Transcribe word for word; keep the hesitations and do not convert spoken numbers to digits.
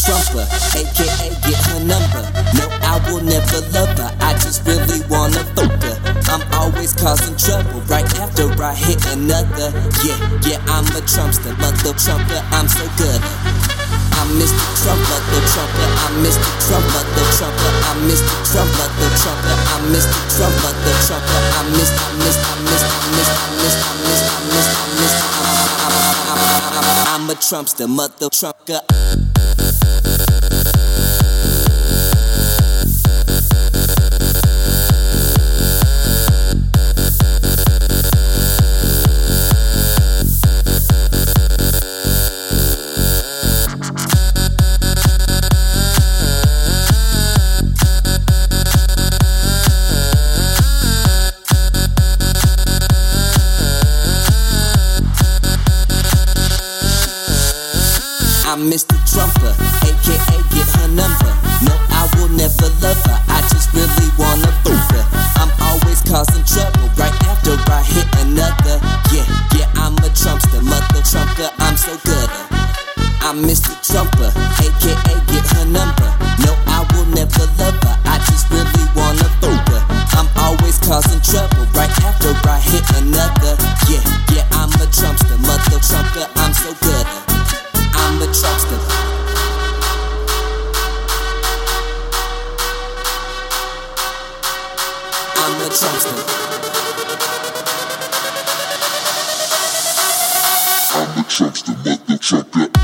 Trumper, aka get her number. No, I will never love her, I just really wanna fuck her. I'm always causing trouble right after I hit another. Yeah, yeah, I'm a Trumpster, mother Trumper, I'm so good. I'm Mister Trump, mother Trumper, I'm Mister Trump, mother Trumper, I'm Mister Trump, mother Trumper, I'm Mister Trump, mother Trumper, I'm Mister, I'm Mister, I'm Mister, I'm Mister, I'm Mister, I'm Mister, I'm Mister, I'm a Trumpster, mother Trumper. I'm Mister Trumper, aka get her number. No, I will never love her, I just really wanna fuck her. I'm always causing trouble right after I hit another. Yeah, yeah, I'm a Trumpster, mother Trumper, I'm so good. I'm Mister Trumper, aka get her number. No, I will never love her, I just really wanna fuck her. I'm always causing trouble right after I hit another. Yeah, yeah, I'm a Trumpster, mother Trumper, I'm so good. I'm a Trumpster. I'm a Trumpster. I'm a Trumpster, mother Trumpster.